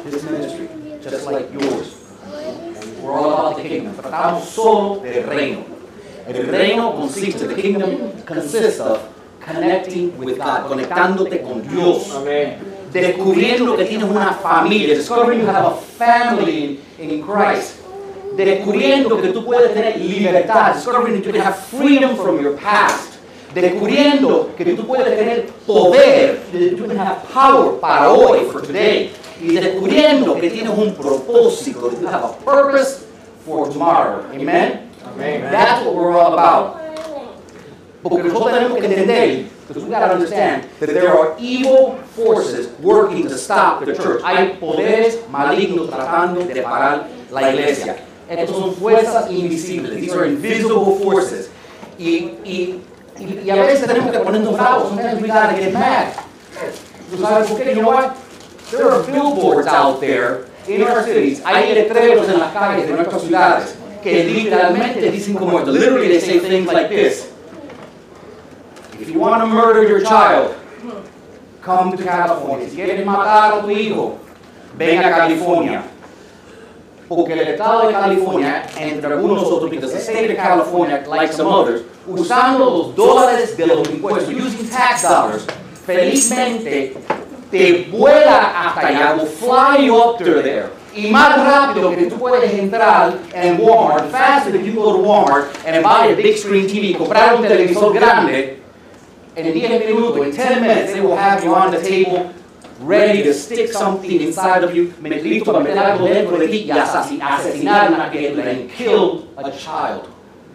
this ministry, just like yours. We're all about the kingdom. Tratamos solo del reino. El reino consiste, the kingdom consists of connecting with God, conectándote con Dios. Amen. Descubriendo que tienes una familia, discovering you have a family in Christ. Descubriendo que tú puedes tener libertad, discovering that you can have freedom from your past. Descubriendo que tú puedes tener poder, that you can have power para hoy, for today. Y descubriendo que tienes un propósito, that you have a purpose for tomorrow. Amen? Amen. That's what we're all about. Porque nosotros tenemos que entender, because we got to understand, that there are evil forces working to stop the church. Hay poderes malignos tratando de parar la iglesia. Estas son fuerzas invisibles. These are invisible forces. Y a veces tenemos que ponernos bravos. Sometimes we got to get mad. ¿Tú sabes por qué? You know what? There are billboards out there in our cities. Hay letreros en las calles de nuestras ciudades que literalmente dicen como esto. Literally they say things like this. If you want to murder your child, come to California. Si quieres matar a tu hijo, ven a California. Porque el estado de California, entre algunos otros, because the state of California, like some others, usando los dólares de los impuestos, using tax dollars, felizmente te vuela hasta allá, will fly you up to there. Y más rápido que tú puedes entrar en Walmart, faster than you go to Walmart and buy a big screen TV, comprar un televisor grande, en 10 minutos, in 10 minutes, they will have you on the table, ready to stick something inside of you, listo para meter algo dentro de ti y asesinar a una criatura, and kill a child.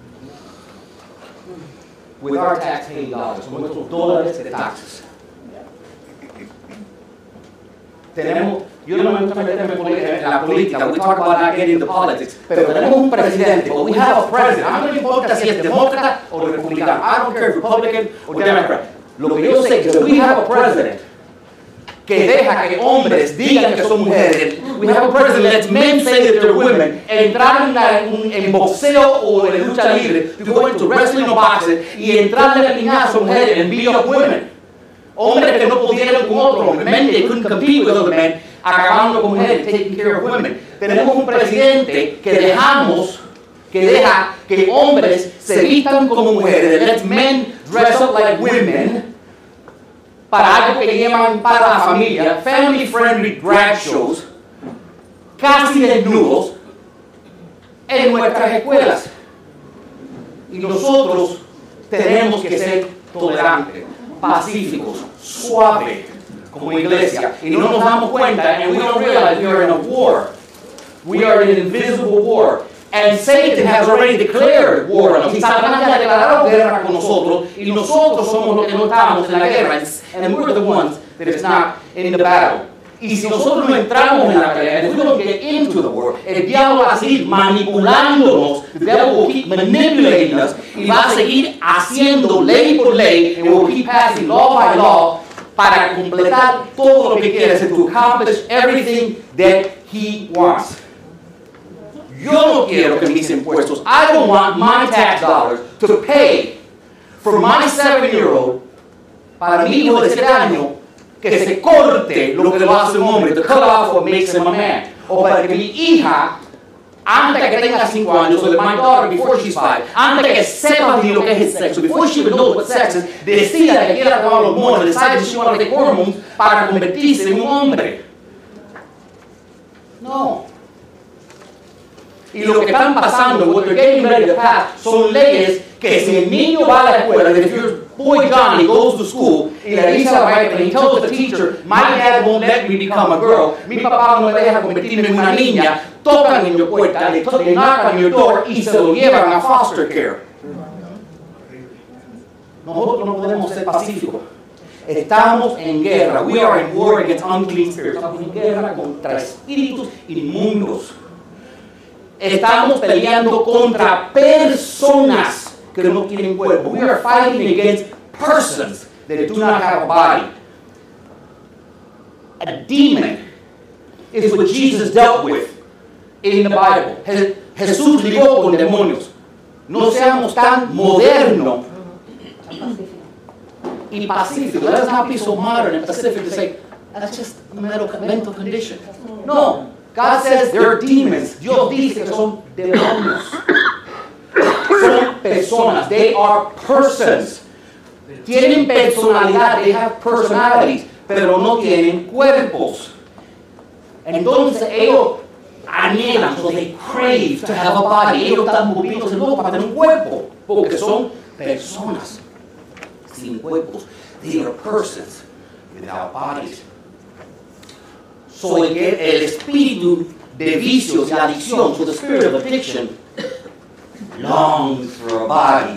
With our tax-paying dollars, con nuestros dólares de taxes. Yo no me gusta meterme en la política, we talk about not getting into politics, pero tenemos un presidente, but we have a president. A mí no me importa si es demócrata o republicano. I don't care if Republican or Democrat. Lo que yo sé es que we have a president que deja que hombres digan que son mujeres. We have a president that lets men say that they're women. Entrar en boxeo o en lucha libre, to go into wrestling or boxing, y entrarle a piñazo a mujeres and beat up women. Hombres que no pudieron con otro hombre, men they couldn't compete with other men, acabando con mujeres, taking care of women. Tenemos un presidente que deja que hombres se vistan como mujeres, that lets men dress up like women, para algo que llaman para la familia, family friendly drag shows, casi desnudos, en nuestras escuelas. Y nosotros tenemos que ser tolerantes, pacíficos, suaves, como iglesia. Y no nos damos cuenta, and we don't realize we are in a war. We are in an invisible war. And Satan has already declared war on us. Y Satanás ya declaró guerra con nosotros, y nosotros somos los que no estamos en la guerra, and we're the ones that is not in the battle. Y si nosotros no entramos en la pelea, and if we don't get into the war, el diablo va a seguir manipulándonos, the devil will keep manipulating us, y va a seguir haciendo ley por ley, and will keep passing law by law, para completar todo lo que quiere, to accomplish everything that he wants. Yo no quiero que mis impuestos, I don't want my tax dollars to pay for my 7-year-old, para mi hijo de 7 años, que se corte lo que lo hace un hombre, to cut off what makes him a man. O para que mi hija, antes que tenga 5 años, so that my daughter, before she's 5, antes que sepa ni lo que es el sexo, before she even knows what sex is, decida que quiera tomar los hormones, decide that she wants to take hormones para convertirse en un hombre. No. Y lo que están pasando, what they're getting ready to pass, son leyes que si el niño va a la escuela, that if your boy Johnny goes to school, y le dice a la maestra, and he tells the teacher, my dad won't let me become a girl, mi papá no me deja convertirme en una niña, tocan en your puerta, le knock on your door, y se lo llevan a foster care. Nosotros no podemos ser pacíficos. Estamos en guerra. We are in war against unclean spirits. Estamos en guerra contra espíritus inmundos. Estamos peleando contra personas que no tienen cuerpo. We are fighting against persons that do not have a body. A demon is what Jesus dealt with in the Bible. Jesús lidió con demonios. No seamos tan modernos y pacíficos. Let us not be so modern and pacific to say, That's just a mental condition. No, God says they're demons. Dios dice que son demonios. Son personas. They are persons. Tienen personalidad. They have personalities. Pero no tienen cuerpos. Entonces ellos anhelan, so they crave to have a body. Ellos están moviéndose locos para tener un cuerpo. Porque son personas sin cuerpos. They are persons without bodies. So el espíritu de vicios y adicción, so the spirit of addiction, longs for a body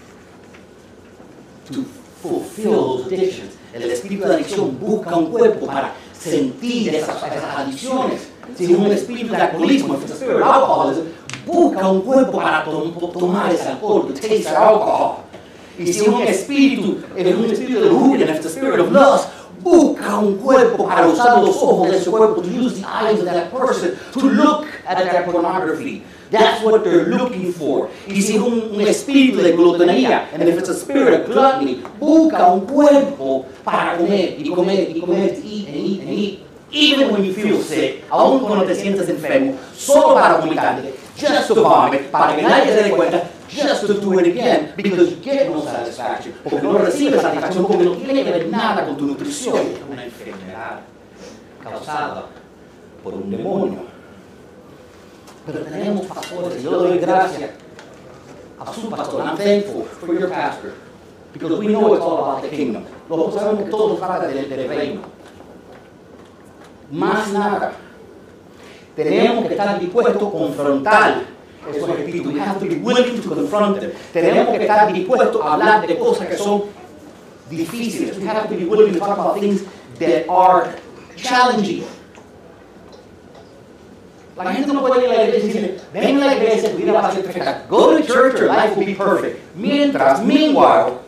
to fulfill those addictions. El espíritu de adicción busca un cuerpo para sentir esas adicciones. Si es un espíritu de alcoholismo, if it's a spirit of alcoholism, busca un cuerpo para tomar ese alcohol, to taste alcohol. Y si es un espíritu de lujuria, if it's a spirit of lust, busca un cuerpo para usar los ojos de ese cuerpo, to use the eyes of that person to look at that pornography. That's what they're looking for. Y si es un espíritu de glutonería, and if it's a spirit of gluttony, busca un cuerpo para comer y comer y comer, to eat and eat and eat. Even when you feel sick, aun cuando te sientes enfermo, solo para vomitar, just to vomit, para que nadie se dé cuenta, just to do it again, because you get no satisfaction, porque no recibes satisfacción, porque no tiene que ver nada con tu nutrición. Es una enfermedad causada por un demonio. Pero tenemos pastores, yo le doy gracias a su pastor. I'm thankful for your pastor, because we know it's all about the kingdom. Nosotros sabemos que todo trata del reino. Más nada, tenemos que estar dispuestos a confrontar esos espíritus. We have to be willing to confront them. Tenemos que estar dispuestos a hablar de cosas que son difíciles. We have to be willing to talk about things that are challenging. La gente no puede ir a la iglesia y decir, ven a la iglesia, tu vida va a ser perfecta. Go to church, your life will be perfect. Meanwhile,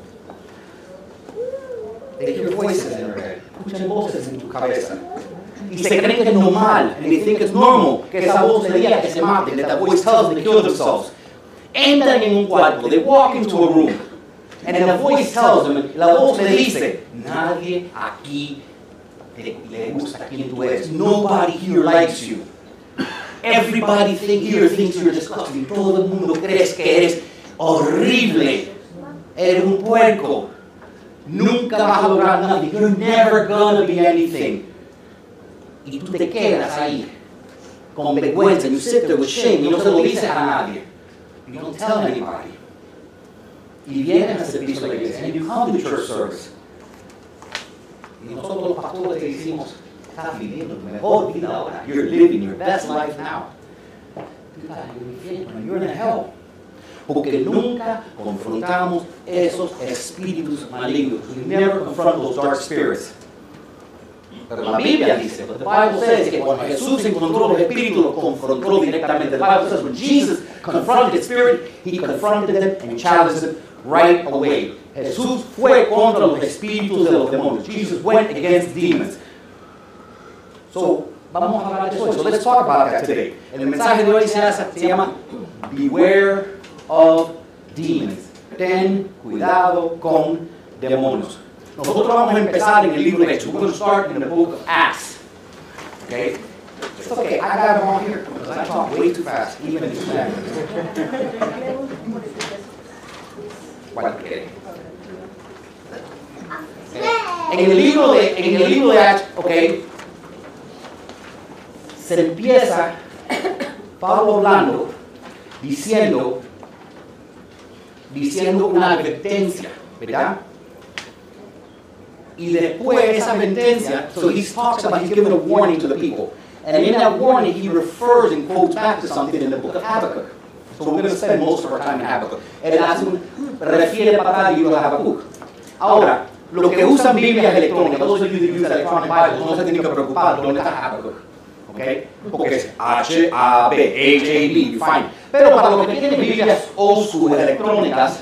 they hear voices in their head. Escuchan voces en tu cabeza. Y se creen que es normal, and they think it's normal, que esa voz le diga que se maten, that voice tells them to kill themselves. Entran en un cuarto, they walk into a room, and then the voice tells them, la voz le dice, nadie aquí le gusta quien tú eres. Nobody here likes you. Everybody here thinks you're disgusting. Todo el mundo crees que eres horrible. Eres un puerco. Nunca vas a lograr nada. You're never gonna be anything. Y tú te quedas ahí con vergüenza. You sit there with shame. Y no se lo dices a nadie. You don't tell anybody. Y vienes al servicio de la iglesia. And you come to church service. Y nosotros los pastores te decimos, estás viviendo tu mejor vida ahora. You're living your best life now. Tú estás en el infierno. You're in hell. Porque nunca confrontamos esos espíritus malignos. We never confront those dark spirits. Pero la Biblia dice, but the Bible says que cuando Jesús encontró los espíritus, los confrontó directamente. The Bible says when Jesus confronted the spirit, he confronted them and challenged them right away. Jesús fue contra los espíritus de los demonios. Jesus went against demons. So, vamos a hablar de eso. So let's talk about that today. El mensaje de hoy se llama Beware of Demons. Ten cuidado con demonios. Nosotros vamos a empezar en el libro de Hechos. We're going to start in the book of Acts. Okay? It's okay. I got them all here because I talk way too fast, even in Spanish. En el libro de Acts, okay, se empieza Pablo hablando, diciendo una advertencia, ¿verdad? Y después esa advertencia, so he talks about, he's giving a warning to the people. And in that warning, he refers and quotes back to something in the book of Habakkuk. So we're going to spend most of our time in Habakkuk. Él refiere para atrás al libro de Habakkuk. Ahora, los que usan Biblias electrónicas, those of you that use electronic Bibles, no se tienen que preocupar dónde está Habakkuk. Okay? Porque es H-A-B, H-A-B, fine. Pero para los que tienen Biblias old school electrónicas,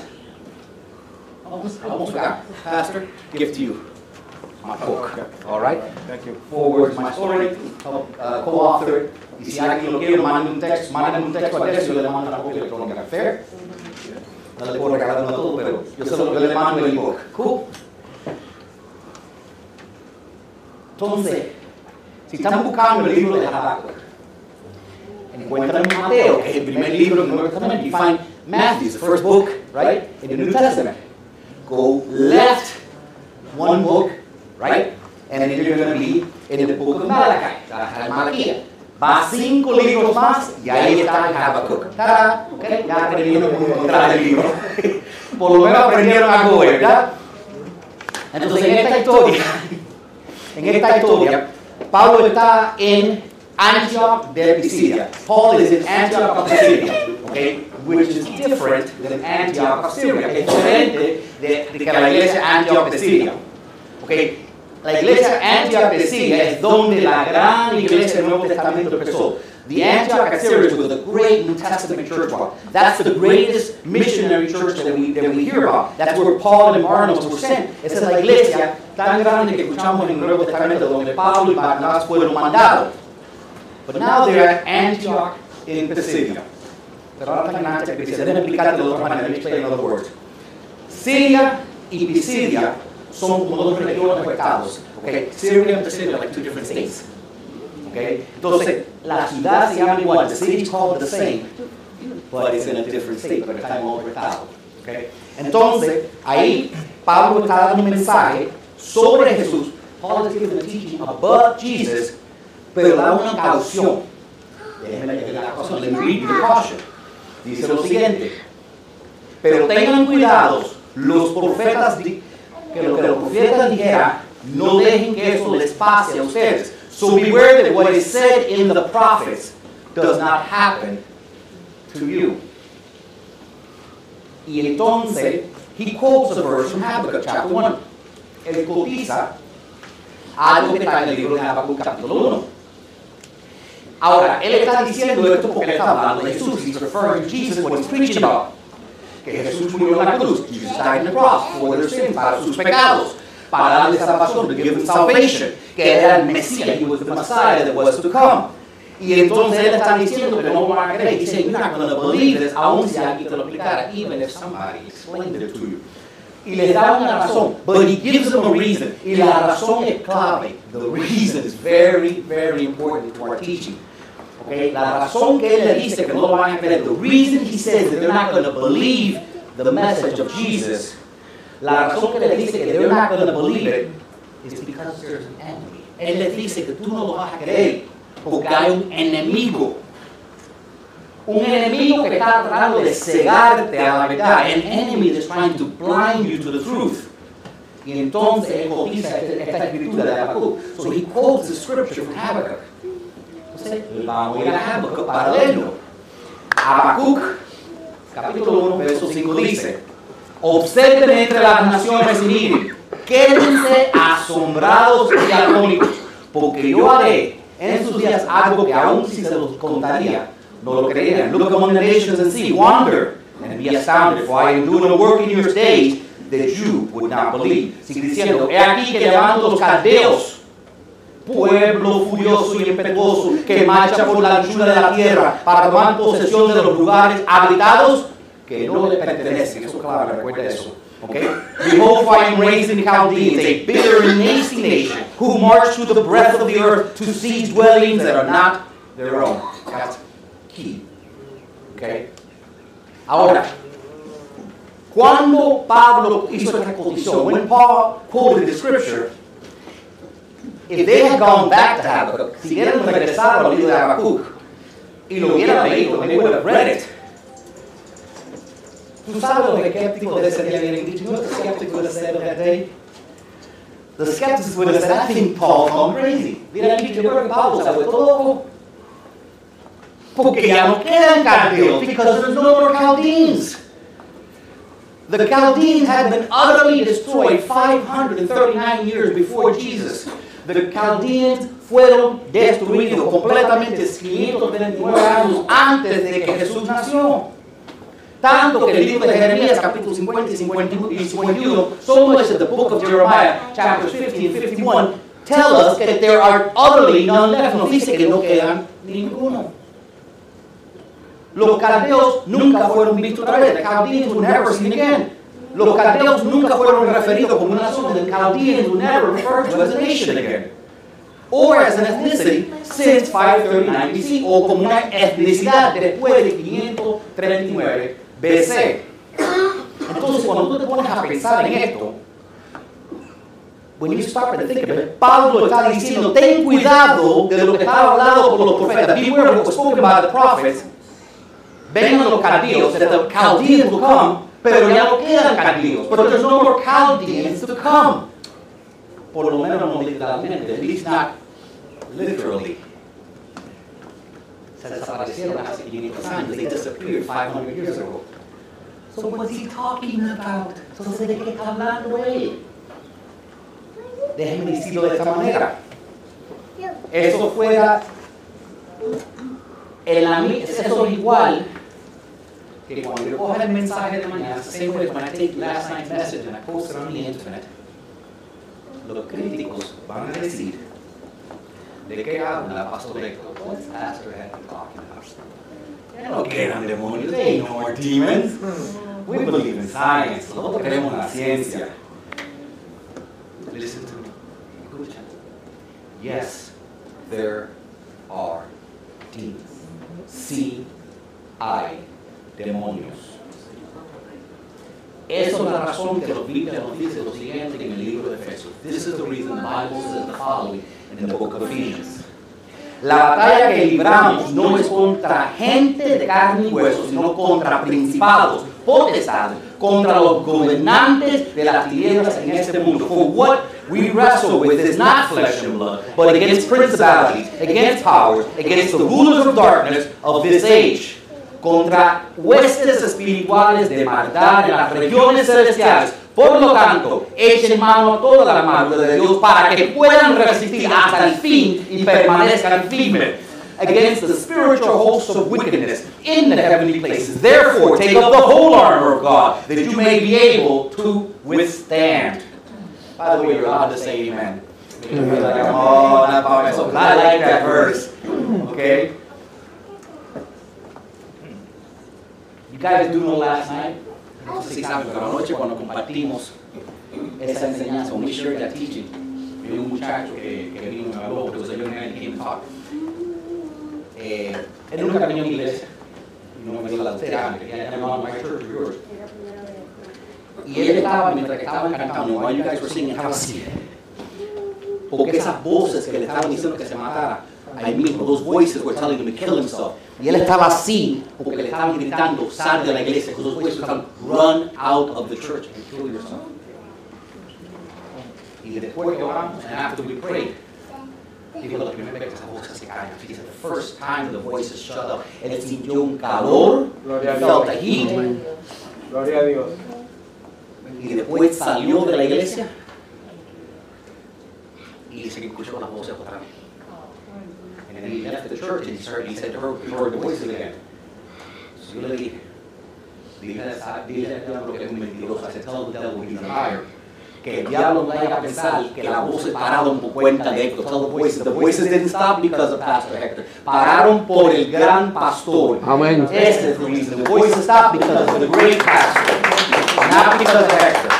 vamos acá, Pastor, give to you my book. All right? Thank you. Forward my story, co-author. Y si alguien lo quiere, manden un texto a Desio, yo le mando una copia electrónica. Fair? No le puedo regalar uno a todo, pero yo le mando el ebook. Cool? Entonces, si están buscando el libro de Habacuc, encuentran Mateo, que es el primer libro del Nuevo Testamento. You find Matthew, the first book, right, in the New Testament. Go left one book, right, and then you're going to be in the book of Malachi, Malaquía. Va 5 libros más y ahí está Habacuc. ¡Tarán! Okay, ya aprendieron cómo encontrar el libro. Por lo menos aprendieron algo, ¿verdad? Entonces, en esta historia, Pablo está en Antioch de Pisidia. Paul is in Antioch of Pisidia, okay, which is different than Antioch of Syria. Es diferente de que la iglesia Antioch de Siria. Okay, la iglesia Antioch de Siria es donde la gran iglesia del Nuevo Testamento empezó. The Antioch of Syria was the great New Testament church. That's the greatest missionary church that we hear about. That's where Paul and Barnabas were sent. Esa es la iglesia tan grande que escuchamos en el Nuevo Testamento donde Pablo y Barnabas fueron mandados. But now they're at Antioch in Pisidia. Pero ahora están en Antioch en Pisidia. Déjenme explicarte de otra manera. Let me explain in other words. Siria y Pisidia son como dos regiones o estados. Okay? Syria and Pisidia are like 2 different states. Okay? Entonces, la ciudad se llama igual. The city is called the same, but it's in a different state, pero está en otro estado. Okay? Entonces, ahí Pablo está dando un mensaje sobre Jesús. Paul is giving a teaching about Jesus, pero da una caución. Déjenme leer la caución. Let me read the caution. Dice lo siguiente. Pero tengan cuidado los profetas, que lo que los profetas dijeran, no dejen que eso les pase a ustedes. So beware that what is said in the prophets does not happen to you. Y entonces, he quotes a verse from Habakkuk chapter 1. Él cotiza algo que está en el libro de Habakkuk capítulo 1. Ahora, él está diciendo esto porque él está hablando de Jesús. He's referring to Jesus, what he's preaching about. Que Jesús murió en la cruz. Jesus died on the cross for their sins, para sus pecados, para darles salvación, to give them salvation. Que era el Mesías, he was the Messiah that was to come. Y entonces él está diciendo que no van a creer. He's saying, you're not going to believe this, aun si alguien te lo explicara, even if somebody explained it to you. Y les da una razón, but he gives them a reason. Y la razón es clave. The reason is very, very important to our teaching. Okay? La razón que él le dice que no lo van a creer, the reason he says that they're not going to believe the message of Jesus, la razón que le dice que they're not going to believe it is because there's an enemy. Él les dice que tú no lo vas a creer porque hay un enemigo. Un enemigo que está tratando de cegarte a la verdad. An enemy that's trying to blind you to the truth. Y entonces él cotiza esta escritura de Habacuc. So he quotes the scripture from Habakkuk. Entonces vamos a ir a Habacuc para leerlo. Habacuc, capítulo 1, verso 5 dice: observen entre las naciones y miren, quédense asombrados y atónitos, porque yo haré en sus días algo que aún si se los contaría, no lo creerían. Look among the nations and see, wonder and be astounded, for I am doing a work in your days that you would not believe. Sigue diciendo, he aquí que levanto los caldeos, pueblo furioso y impetuoso, que marcha por la anchura de la tierra para tomar posesión de los lugares habitados que no le pertenecen. Eso claro, recuerda eso. Okay? Behold, for I am raising Chaldeans, a bitter and nasty nation, who march through the breadth of the earth to seize dwellings that are not their own. That's key. Okay? Ahora, cuando Pablo hizo esta condición, when Paul quoted the scripture, if they had gone back to Habakkuk, si hubieran regresado al libro de Habacuc y lo hubieran leído, they would have read it. ¿Tú sabes lo que skeptics de ese día habían dicho? You know what the skeptics would have said of that day? The skeptics would have said, I think Paul's gone crazy. Hubieran dicho, yo creo que Pablo se ha vuelto loco. Porque ya no quedan caldeos, because there's no more Chaldeans. The Chaldeans had been utterly destroyed 539 years before Jesus. The Chaldeans fueron destruidos completamente 539 años antes de que Jesús nació. Tanto que el libro de Jeremías, capítulo 50 y 51, so much of the book of Jeremiah, chapters 50 and 51, tell us that there are utterly none left. Nos dice que no quedan ninguno. Los caldeos nunca fueron vistos otra vez. The Chaldeans were never seen again. Los caldeos nunca fueron referidos como una nación. The Chaldeans were never referred to as a nation again. or as an ethnicity since 539 BC, o como una etnicidad después de 539 BC. Entonces, cuando tú te pones a pensar en esto, when you start to think of it, Pablo está diciendo, ten cuidado de lo que está hablado por los profetas. Beware of what was spoken by the prophets. Vengan los caldeos, that the Chaldeans will come, pero ya no quedan caldeos. But there's no more Chaldeans to come. Por lo menos no literalmente, at least not literally. Se desaparecieron hace 500 años. They disappeared 500 years ago. So what's he talking about? Entonces, ¿de qué está hablando él? Déjenme decirlo de esta manera. Eso fuera, eso es igual que cuando yo cojo el mensaje de mañana, same way as when I take last night's message and I post it on the internet, los críticos van a decir, ¿de qué habla Pastor Héctor? What's Pastor Héctor talking about? Ya no quedan demonios, there ain't no more demons. We believe in science, nosotros creemos en la ciencia. Listen to me. Escucha. Yes, there are demons. Sí, hay demonios. Esa es la razón que la Biblia nos dice lo siguiente en el libro de Efesios. This is the reason the Bible says the following in the book of Ephesians. La batalla que libramos no es contra gente de carne y hueso, sino contra principados, potestades, contra los gobernantes de las tinieblas en este mundo. For what we wrestle with is not flesh and blood, but against principalities, against powers, against the rulers of darkness of this age. Contra huestes espirituales de maldad en las regiones celestiales. Por lo tanto, echen mano a toda la armadura de Dios para que puedan resistir hasta el fin y permanezcan firmes against the spiritual hosts of wickedness in the heavenly places. Therefore, take up the whole armor of God, that you may be able to withstand. By the way, you're allowed to say amen. Oh, not by myself. I like that verse. Okay? You guys do know last night? No sé si saben, pero anoche cuando compartimos esa enseñanza, when we shared that teaching, vi un muchacho que vino y me habló, because a young man came to talk. Él nunca venido a mi iglesia, no me dio la terapia, ya no on my church or yours. Y él estaba, mientras que estaban cantando, while you guys were singing, estaba así. Porque esas voces que le estaban diciendo que se matara, ahí mismo, those voices were telling him to kill himself. Y él estaba así porque le estaban gritando, sal de la iglesia, because those voices were telling him, run out of the church and kill yourself. Y después que oramos, and after we prayed, dijo, la primera vez que esas voces se callan. He said, the first time the voices shut up, él sintió un calor, felt the heat. Gloria a Dios. Y después salió de la iglesia y se escuchó las voces otra vez. And then he left the church and he said to her, he heard the voices again. So yo le dije, dile al diablo que es un mentiroso. I said, tell the devil he's a liar. Que el diablo vaya a pensar que la voz se pararon por cuenta de Héctor. Tell the voices didn't stop because of Pastor Hector. Pararon por el gran pastor. Amen. Ese es el reason. The voices stopped because of the great pastor, not because of Hector.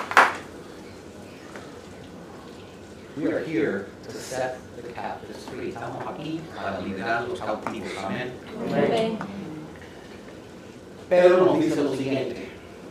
We are here to set the captives free. Estamos aquí para liberar a los cautivos. Amén. Amén. Pedro nos dice lo siguiente: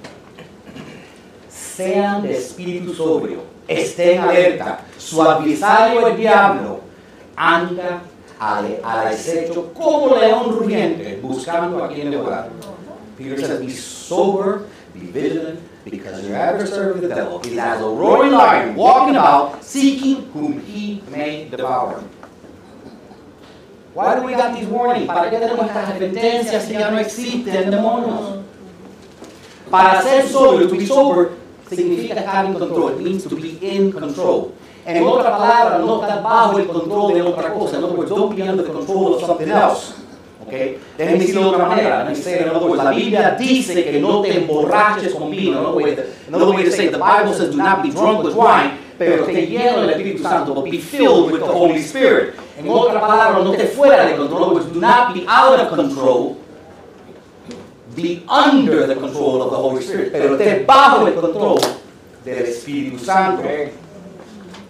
sean de espíritu sobrio, estén alerta, su adversario el diablo anda al acecho como león rugiente, buscando a quien devorar. Peter says, be sober, be vigilant, because your adversary the devil is as a roaring lion, walking about, seeking whom he may devour. Why do we got these warnings? ¿Para qué tenemos estas advertencias si ya no existen demonios? Para ser sobrio, to be sober, significa estar en control. It means to be in control. En otra palabra, no estar bajo el control de otra cosa. In other words, don't be under the control of something else. Okay? Déjenme decirlo de otra manera. Let me say it in other words. La Biblia dice que no te emborraches con vino. Another way to say it, the Bible says do not be drunk with wine, pero esté lleno del Espíritu Santo, but be filled with the Holy Spirit. En otra palabra, no te fuera de control. In other words, do not be out of control. Be under the control of the Holy Spirit, pero esté bajo el control del Espíritu Santo.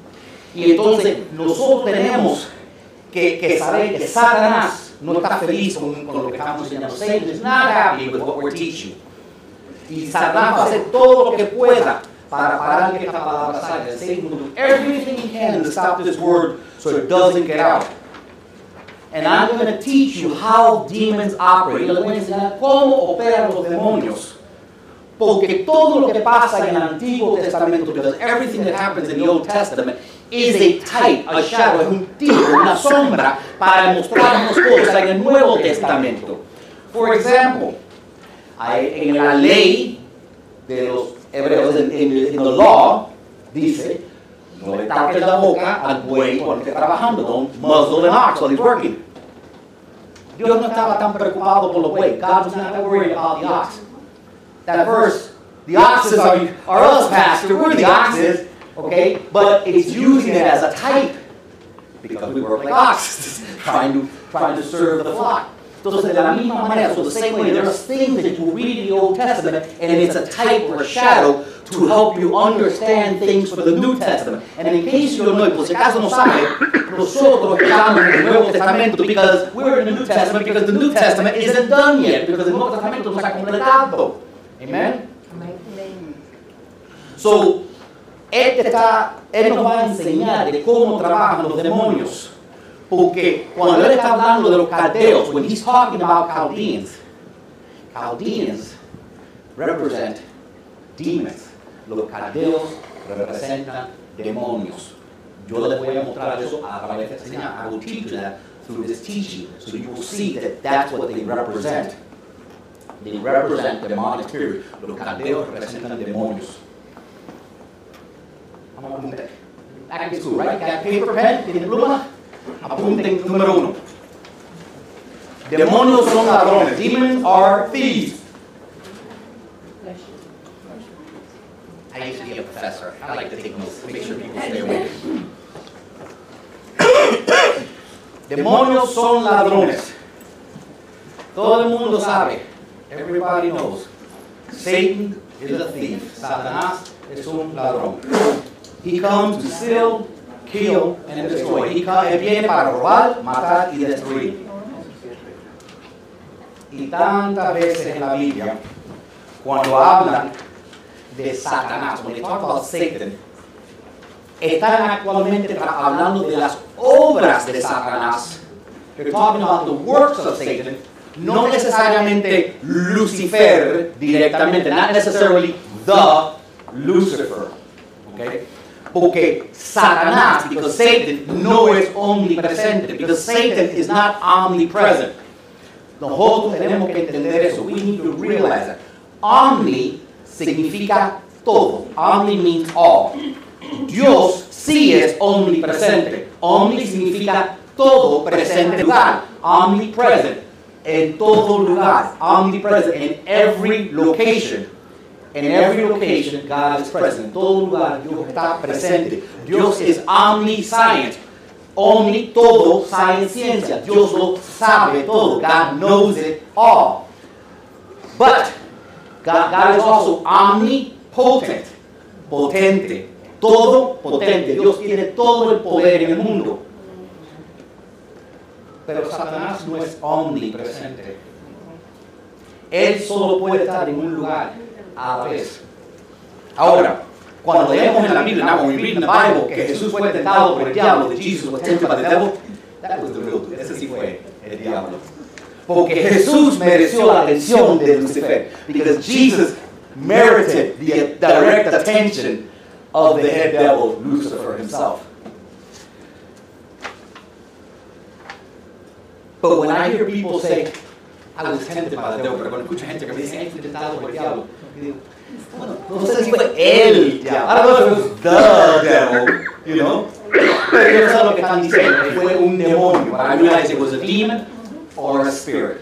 Y entonces nosotros tenemos que saber que Satanás no está feliz con lo que estamos enseñando. Satan is not happy with what we're teaching. Y Satanás va a hacer todo lo que pueda para parar que esta palabra salga. Satan will do everything he can to stop this word so it doesn't get out. And I'm going to teach you how demons operate. Y les voy a enseñar cómo operan los demonios. Porque todo lo que pasa en el Antiguo Testamento, because everything that happens in the Old Testament is a type, a shadow, es un tipo, una sombra para mostrarnos cosas en el Nuevo Testamento. For example, en la ley de los hebreos, en the law, dice, no le tapes la boca al buey cuando esté trabajando. Don't muzzle an ox while he's working. Dios no estaba tan preocupado por los bueyes. God was not worried about the ox. That verse, the oxes are us, Pastor. We're the oxes, okay? But it's using it as a type because we work like oxes, trying to serve the flock. Entonces, de la misma manera, so the same way, there's things that you read in the Old Testament, and it's a type or a shadow to help you understand things for the New Testament. And in case you don't know, por si acaso no sabe, nosotros estamos en el Nuevo Testamento because we're in the New Testament because the New Testament isn't done yet, because el Nuevo Testamento no se ha completado. Amen? Amen. So, él nos va a enseñar de cómo trabajan los demonios. Porque cuando él está hablando de los caldeos, when he's talking about Chaldeans represent demons. Los caldeos representan demonios. Yo les voy a mostrar eso a través de esta enseñanza. I will teach you that through this teaching, so you will see that that's what they represent. They represent demonic spirits. Los caldeos representan demonios. Vamos a apuntar. Back in school, right? Got paper, pen, tiene pluma. Apunten número 1. Demonios son ladrones. Demons are thieves. I used to be a professor. I like to take notes, make sure people stay awake. Demonios son ladrones. Todo el mundo sabe. Everybody knows. Satan is a thief. Satanás es un ladrón. He comes to steal, kill, and destroy. Él viene para robar, matar y destruir. Y tantas veces en la Biblia, cuando hablan de Satanás, when they talk about Satan, están actualmente hablando de las obras de Satanás. They're talking about the works of Satan, no necesariamente Lucifer directamente, not necessarily the Lucifer. Okay? Porque Satanás, because Satan no es omnipresente, because Satan is not omnipresent. Nosotros tenemos que entender eso. We need to realize that. Omni significa todo. Omni means all. Dios sí es omnipresente. Omni significa todo presente lugar. Omnipresent. En todo lugar. Omnipresent. In every location. In every location, God is present. En todo lugar, Dios está presente. Dios es omniscient. Omni, todo, science, ciencia. Dios lo sabe todo. God knows it all. But God is also omnipotent. Potente. Todo potente. Dios tiene todo el poder en el mundo. Pero Satanás no es omnipresente. Él solo puede estar en un lugar a la vez. Ahora, cuando leemos en la Biblia, now when we read in the Bible que Jesús fue tentado por el diablo, that Jesus was tempted by the devil, that was the real dude. Ese sí fue el diablo. Porque Jesús mereció la atención de Lucifer. Because Jesus merited the direct attention of the head devil, Lucifer himself. But when I hear people say, I was tempted by the devil, pero cuando escucho gente que me dice, ay, fui tentado por el diablo, digo, bueno, no sé si fue el diablo. I don't know if it was the devil, you know. Pero yo sé lo que están diciendo, que fue un demonio. But I realized it was a demon or a spirit.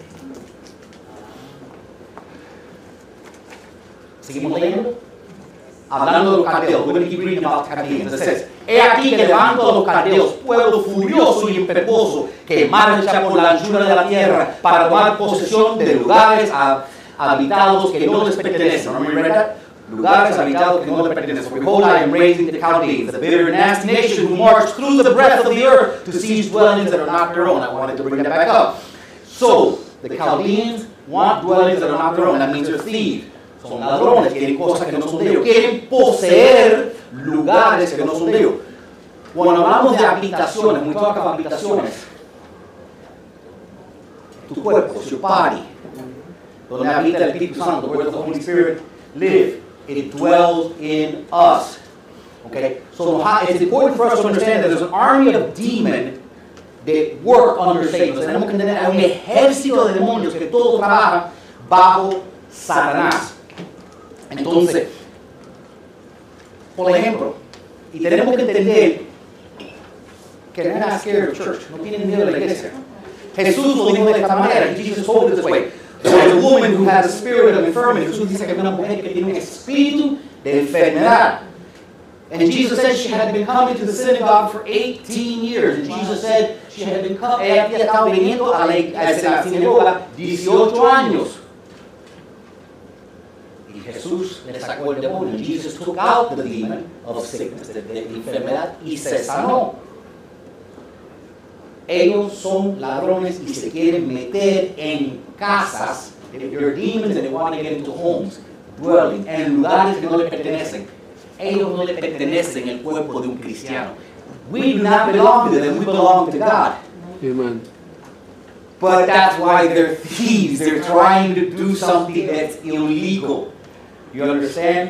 Seguimos leyendo. Hablando de los caldeos, we're going to keep reading about Chaldeans. It says, he aquí que levanto a los caldeos, pueblo furioso y impetuoso, que marcha por la anchura de la tierra para tomar posesión de lugares habitados que no les pertenecen. Remember we read that? lugares habitados que no le pertenecen. For behold, I am raising the Chaldeans, the bitter and nasty nation who march through the breadth of the earth to seize dwellings that are not their own. I wanted to bring that back up. So, the Chaldeans want dwellings that are not their own. That means they're thieves. Son ladrones, quieren cosas que no son de ellos. Quieren poseer lugares que no son de ellos. Cuando hablamos de habitaciones, when we talk about habitaciones, tu cuerpo, your body, donde habita el Espíritu Santo, where does the Holy Spirit live? It dwells in us. Okay? So it's important for us to understand that there's an army of demons that work under Satan. Tenemos que entender, hay un ejército de demonios que todo trabaja bajo Satanás. Entonces, por ejemplo, y tenemos que entender que they're not scared of church, no tienen miedo de la iglesia. Jesús lo dijo de esta manera, Jesus told it this way. There was a woman who had a spirit of infirmity. Jesús dice que había una mujer que tiene un espíritu de enfermedad. And Jesus said she had been coming to the synagogue for 18 years. And Jesus said she had been coming, ella había estado viniendo a la sinagoga 18 años. Y Jesús le sacó el demonio. Jesus took out the demon of sickness, de enfermedad, y se sanó. Ellos son ladrones y se quieren meter en casas. They're demons and they want to get into homes, dwelling, en lugares que no le pertenecen. Ellos no le pertenecen al cuerpo de un cristiano. We do not belong to them, we belong to God. Amen. But that's why they're thieves. They're trying to do something that's illegal. You understand?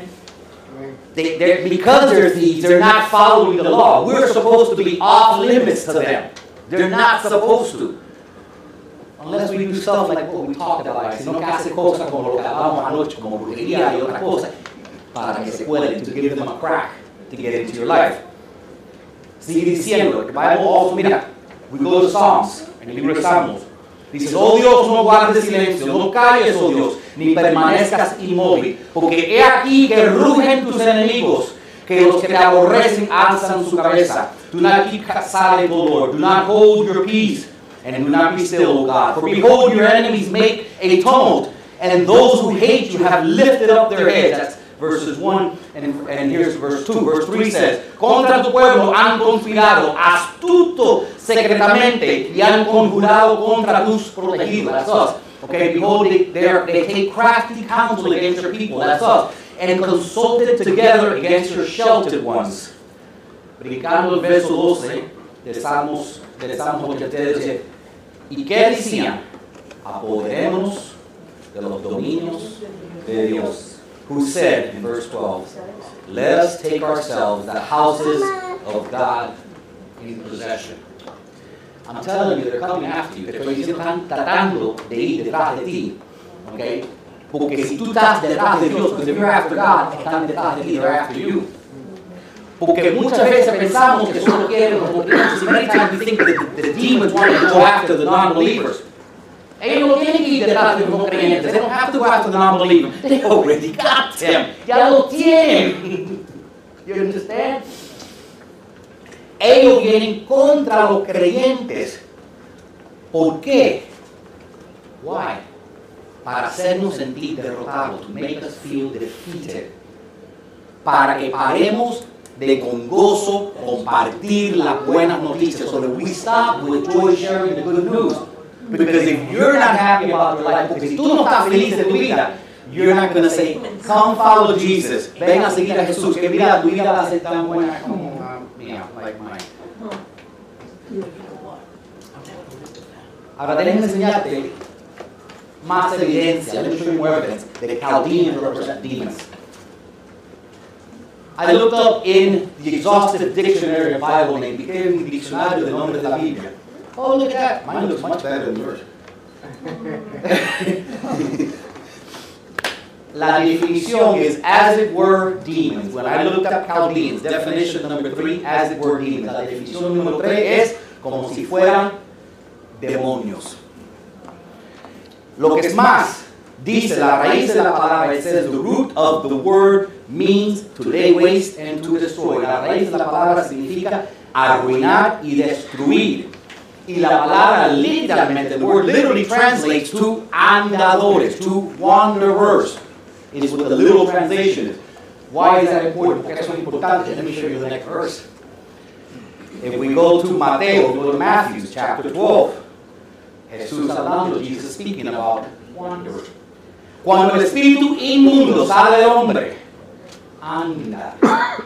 Because they're thieves, they're not following the law. We're supposed to be off limits to them. They're not supposed to. Unless we do stuff like what we talked about. Sino que hace cosas como lo que hablamos anoche, como brujería y otras cosas, para que se puedan, to give them a crack, to get into your life. Sigue diciendo, the Bible also, mira, we go to Psalms, en el libro de Salmos. Dice, oh Dios, no guardes silencio, no calles, oh Dios, ni permanezcas inmóvil, porque he aquí que rugen tus enemigos, que los que te aborrecen alzan su cabeza. Do not keep silent, O Lord, do not hold your peace, and do not be still, O God. For behold, your enemies make a tumult, and those who hate you have lifted up their heads. That's verses 1, and here's verse 2. Verse 3 says, contra tu pueblo han conspirado, astuto secretamente, y han conjurado contra tus protegidos. That's us. Okay, behold, they take crafty counsel against your people. That's us. And consulted together against your sheltered ones. Brincando el verso 12 de Salmos 83, dice, ¿y qué decían? Apoderémonos de los dominios de Dios. Who said in verse 12, let us take ourselves the houses of God in possession. I'm telling you, they're coming after you. Te estoy diciendo, están tratando de ir detrás de ti. Okay? Porque si tú estás detrás de Dios, because if you're after God, están detrás de ti, they're after you. Porque muchas veces pensamos que solo quieren los creyentes, and many times we think that the demons want to go after the non-believers. Ellos no tienen que ir detrás de los no creyentes. They don't have to go after the non-believers. They already got them. Ya lo tienen. You understand? Ellos vienen contra los creyentes. ¿Por qué? Why? Para hacernos sentir derrotados, to make us feel defeated. Para que paremos de con gozo compartir las buenas noticias, so that we stop with joy sharing the good news. Because if you're not happy about your life, porque si tú no estás feliz de tu vida, you're not going to say, come follow Jesus. Ven a seguir a Jesús, que mira, tu vida va a ser tan buena como like mine. Ahora déjame enseñarte más evidencia. Let me show you more evidence that the Chaldeans represent demons. I looked up in the exhaustive dictionary of Bible name, busqué en mi diccionario de nombres de la Biblia. Oh, look at that. Mine looks much better than yours. La definición is as it were demons. When I looked up Chaldeans, definition number 3, as it were demons. La definición número 3 es como si fueran demonios. Lo que es más, dice la raíz de la palabra, it says the root of the word means to lay waste and to destroy. La raíz de la palabra significa arruinar y destruir. Y la palabra literalmente, the word literally translates to andadores, to wanderers. It is what the literal translation is. Why is that important? Porque eso es importante. Let me show you the next verse. If we go to Mateo, go to Matthew chapter 12. Jesús hablando, Jesus speaking about wonder. Cuando el espíritu inmundo sale del hombre, anda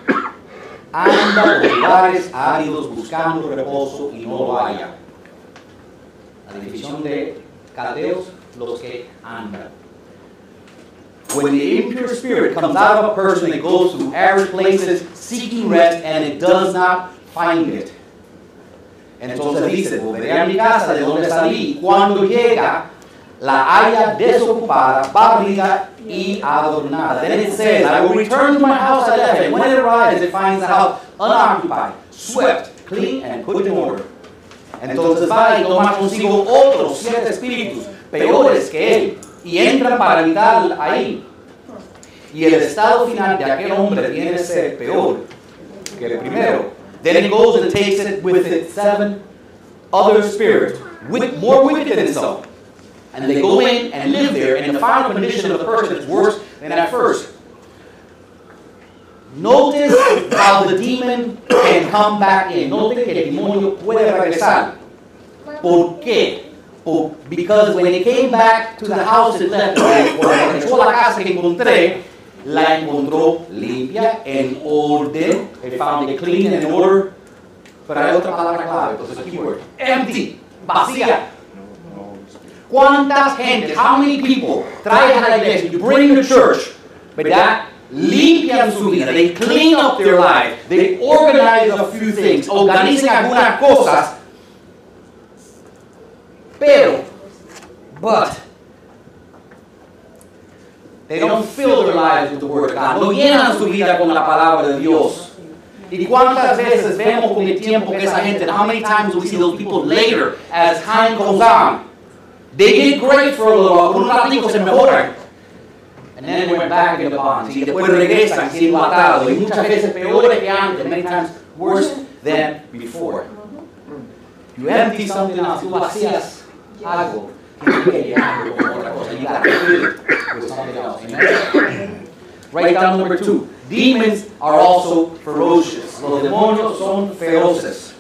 por lugares áridos buscando reposo y no lo halla. La definición de caldeos, los que andan. When the impure spirit comes out of a person, it goes to arid places seeking rest and it does not find it. Entonces dice, volveré a mi casa de donde salí. Cuando llega, la halla desocupada, barrida y adornada. Then it says, I will return to my house I left, and when it arrives, it finds the house unoccupied, swept, clean, and put in order. Entonces va y toma consigo otros 7 espíritus, peores que él, y entran para habitar ahí. Y el estado final de aquel hombre viene a ser peor que el primero. Then it goes and takes it with it 7 other spirits, more wicked than himself. And they go in and live there, and the final condition of the person is worse than at first. Notice how the demon can come back in. Notice que el demonio puede regresar. ¿Por qué? Because when it came back to the house it left, cuando regresó a la casa que encontré, la encontró limpia, en orden. They found it clean and in order. Pero hay otra palabra clave, entonces keyword. Empty, vacía. ¿Cuántas gentes, how many people traen a la iglesia, you bring to church, ¿verdad? Limpian su vida, they clean up their life, they organize a few things, organizan algunas cosas, but they don't fill their lives with the Word of God. No llenan su vida con la palabra de Dios. ¿Y cuántas veces vemos con el tiempo que esa gente, how many times do we see those people later as time goes on? They get great for a little while, por un ratito se mejoran. And then they went back in the bonds. Y después regresan siendo atados. Y muchas veces peores que antes, many times worse than before. You empty something out, tú vacías algo. You got to fill it with something else. Amen? Write down number 2. Demons are also ferocious. Los demonios son feroces.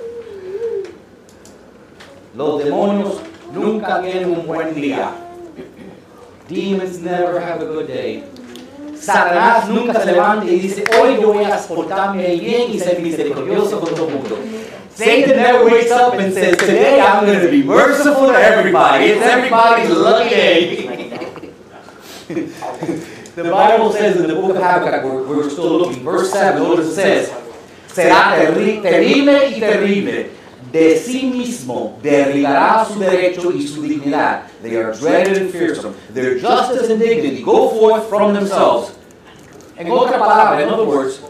Los demonios nunca tienen un buen día. Demons never have a good day. Satanás nunca se levanta y dice, hoy yo voy a portarme bien y ser misericordioso con todo el mundo. Satan never wakes up and says, today I'm going to be merciful to everybody. It's everybody's lucky day. The Bible says in the book of Habakkuk, we're still looking, verse 7, notice it says, será terrible y terrible. De sí mismo derribará su derecho y su dignidad. They are dreaded and fearsome. Their justice and dignity go forth from themselves. En otra palabra, in other words,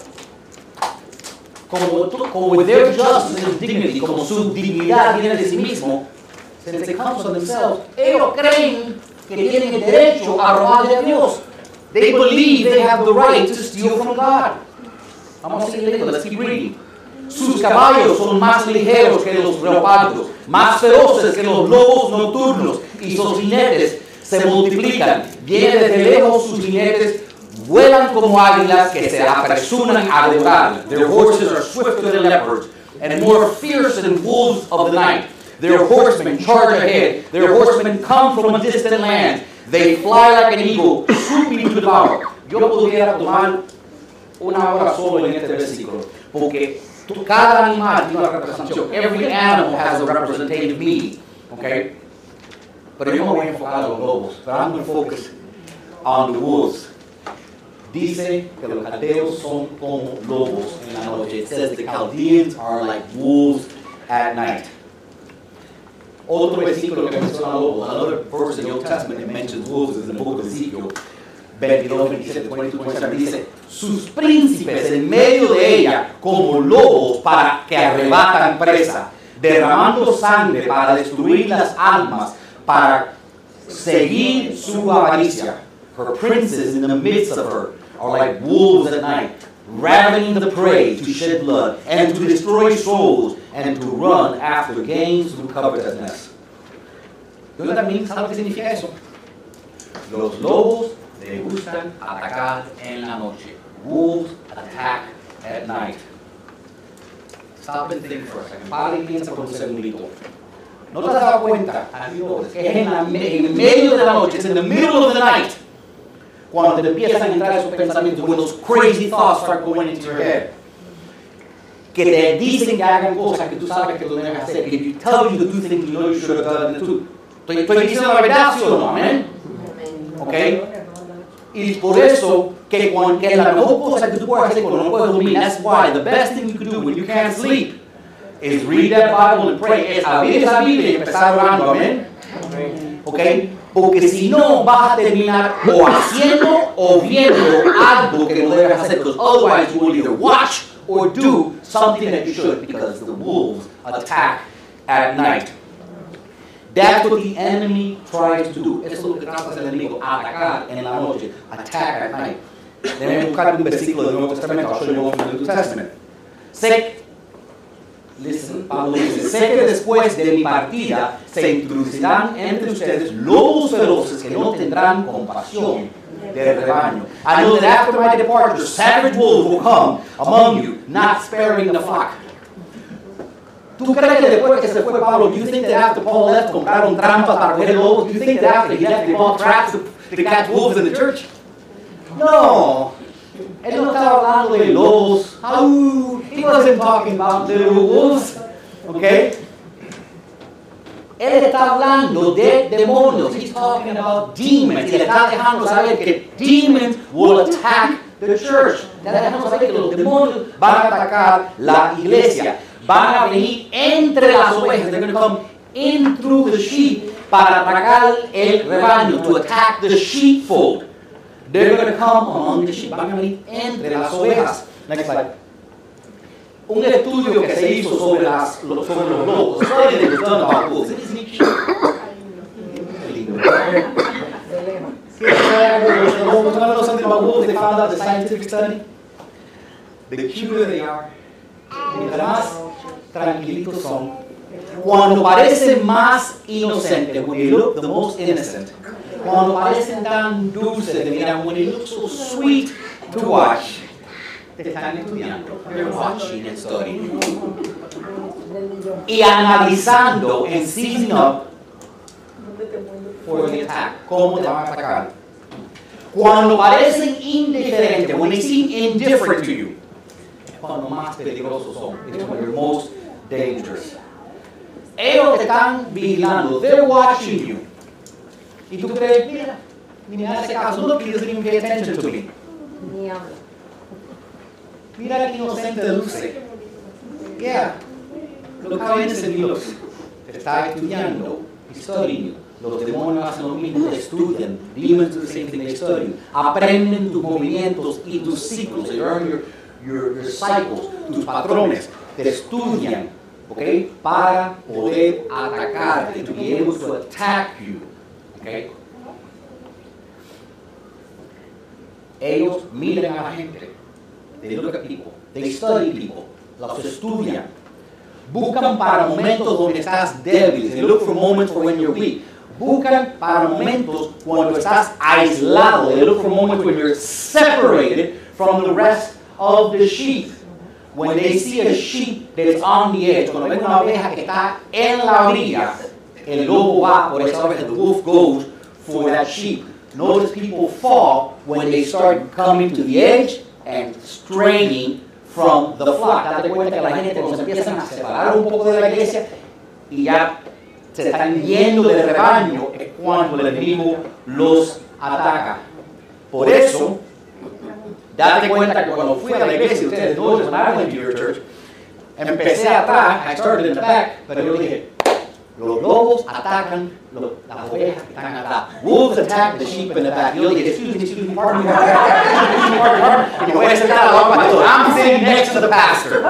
como with their justice and dignity, como su dignidad viene de sí mismo, since it comes from themselves, ellos creen que tienen el derecho a robarle a Dios. They believe they have the right to steal from God. Vamos a seguir leyendo, let's keep reading. Sus caballos son más ligeros que los leopardos, más feroces que los lobos nocturnos, y sus jinetes se multiplican. Vienen desde lejos sus jinetes, vuelan como águilas que se apresuran a devorar. Their horses are swifter than leopards, and more fierce than wolves of the night. Their horsemen charge ahead. Their horsemen come from a distant land. They fly like an eagle, swooping to devour. Yo pudiera tomar una hora solo en este versículo, porque cada animal tiene una representación. Every animal has a representative meaning. Okay? Pero yo me voy a enfocar en los lobos. But I'm going to focus on the wolves. Dice que los caldeos son como lobos en la noche. It says the Chaldeans are like wolves at night. Otro versículo que menciona lobos, another verse in the Old Testament that mentions wolves is in the book of Ezekiel. 22, 27, 22, 27, dice, sus príncipes en medio de ella como lobos para que arrebatan presa, derramando sangre para destruir las almas, para seguir su avaricia. Her princes in the midst of her are like wolves at night, ravening the prey to shed blood and to destroy souls and to run after gain through covetousness. ¿Sabes lo que significa eso? Los lobos le gustan atacar en la noche. Wolves attack at night. Stop and think for a second. Para y piensa por un segundito. ¿No te has dado cuenta? Que es en medio de la noche, it's in the middle of the night, cuando te empiezan a entrar esos pensamientos, when those crazy thoughts start going into your head, que te dicen que hagan cosas que tú sabes que tú debes hacer, que you tell you to do things you know you should have done too. Estoy diciendo la verdad, ¿sí o no? Amén. ¿Ok? Y por eso, que la mejor cosa que tú puedes hacer cuando no puedes dormir, that's why the best thing you can do when you can't sleep is read that Bible and pray. Es abrir esa Biblia y empezar orando, amén. ¿Ok? Porque si no, vas a terminar o haciendo o viendo algo que no debes hacer, because otherwise you will either watch or do something that you should, because the wolves attack at night. That's what the enemy tries to do. Eso es lo que trata el enemigo, atacar en la noche, attack at night. Deben buscar un versículo del Nuevo Testamento. I'll show you one from the New Testament. Pablo dice, sé que después de mi partida se introducirán entre ustedes lobos feroces que no tendrán compasión del rebaño. I know that after my departure, savage wolves will come among you, not sparing the flock. ¿Tú crees que después que se fue Pablo, do you think that after Paul left, compraron trampas para coger lobos? Do you think that after he left, they bought traps to catch wolves in the church? No. Él no estaba hablando de lobos. He wasn't talking about little wolves. Okay? Él está hablando de demonios. He's talking about demons. Y le está dejando saber que demons will attack the church. Le está dejando saber que los demonios van a atacar la iglesia. Van a venir entre las ovejas. They're going to come in through the sheep para atacar el rebaño, to attack the sheepfold. They're going to come among the sheep. Van a venir entre las ovejas. Next slide. Un estudio que se hizo sobre los lobos. A study that was done about wolves. Isn't it cute? Want to know something about wolves? They found out the scientific study. The cuter they are, mientras más tranquilitos son, cuando parecen más inocentes, when they look the most innocent, cuando parecen tan dulces de mirar, when they look so sweet to watch, te están estudiando. They're watching and studying. Y analizando and seizing up for the attack. ¿Cómo te van a atacar? Cuando parecen indiferentes, when they seem indifferent to you, cuando más peligrosos son. It's when you're most dangerous. Ellos te están vigilando. They're watching you. Y tú crees, mira, ni me hace caso. Look, he doesn't even pay attention to me. Mira qué inocente luce. Yeah. Look how innocent he looks. Te está estudiando. He's studying you. Los demonios hacen lo mismo, te estudian. Demons do the same thing, they study you. Aprenden tus movimientos y tus ciclos. They learn your cycles, tus patrones. Te estudian, ¿ok? Para poder atacarte, to be able to attack you. ¿Ok? Ellos miran a la gente. They look at people. They study people. Los estudian. Buscan para momentos donde estás débil. They look for moments for when you're weak. Buscan para momentos cuando estás aislado. They look for moments when you're separated from the rest of the sheep. When they see a sheep that is on the edge, cuando ven una oveja que está en la orilla, el lobo va por esa oveja. The wolf goes for that sheep. Notice people fall when they start coming to the edge and straying from the flock. Date cuenta que la gente nos empiezan a separar un poco de la iglesia y ya se están yendo del rebaño cuando el enemigo los ataca. Por eso, date cuenta que cuando fui a la iglesia, ustedes dos, when I went to your church, empecé atrás, I started in the back, pero yo dije, los lobos atacan las ovejas que están atrás. Wolves attack the sheep in the back. Yo dije, excuse me, pardon me. Y me voy a sentar al lado del pastor. I'm sitting next to the pastor.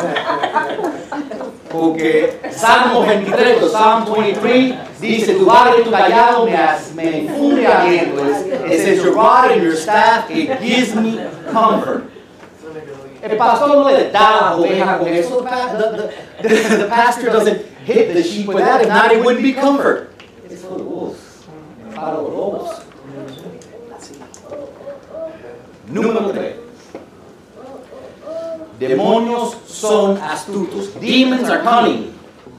Porque Salmo 23, Psalm 23, dice, tu vara y tu callado me infunde aliento. It says, your rod and your staff, it gives me comfort. El pastor no le da a la oveja con eso. The pastor doesn't hit the sheep with that. If not, it wouldn't be comfort. It's for the wolves. Para los lobos. Número 3. Demonios son astutos. Demons are cunning.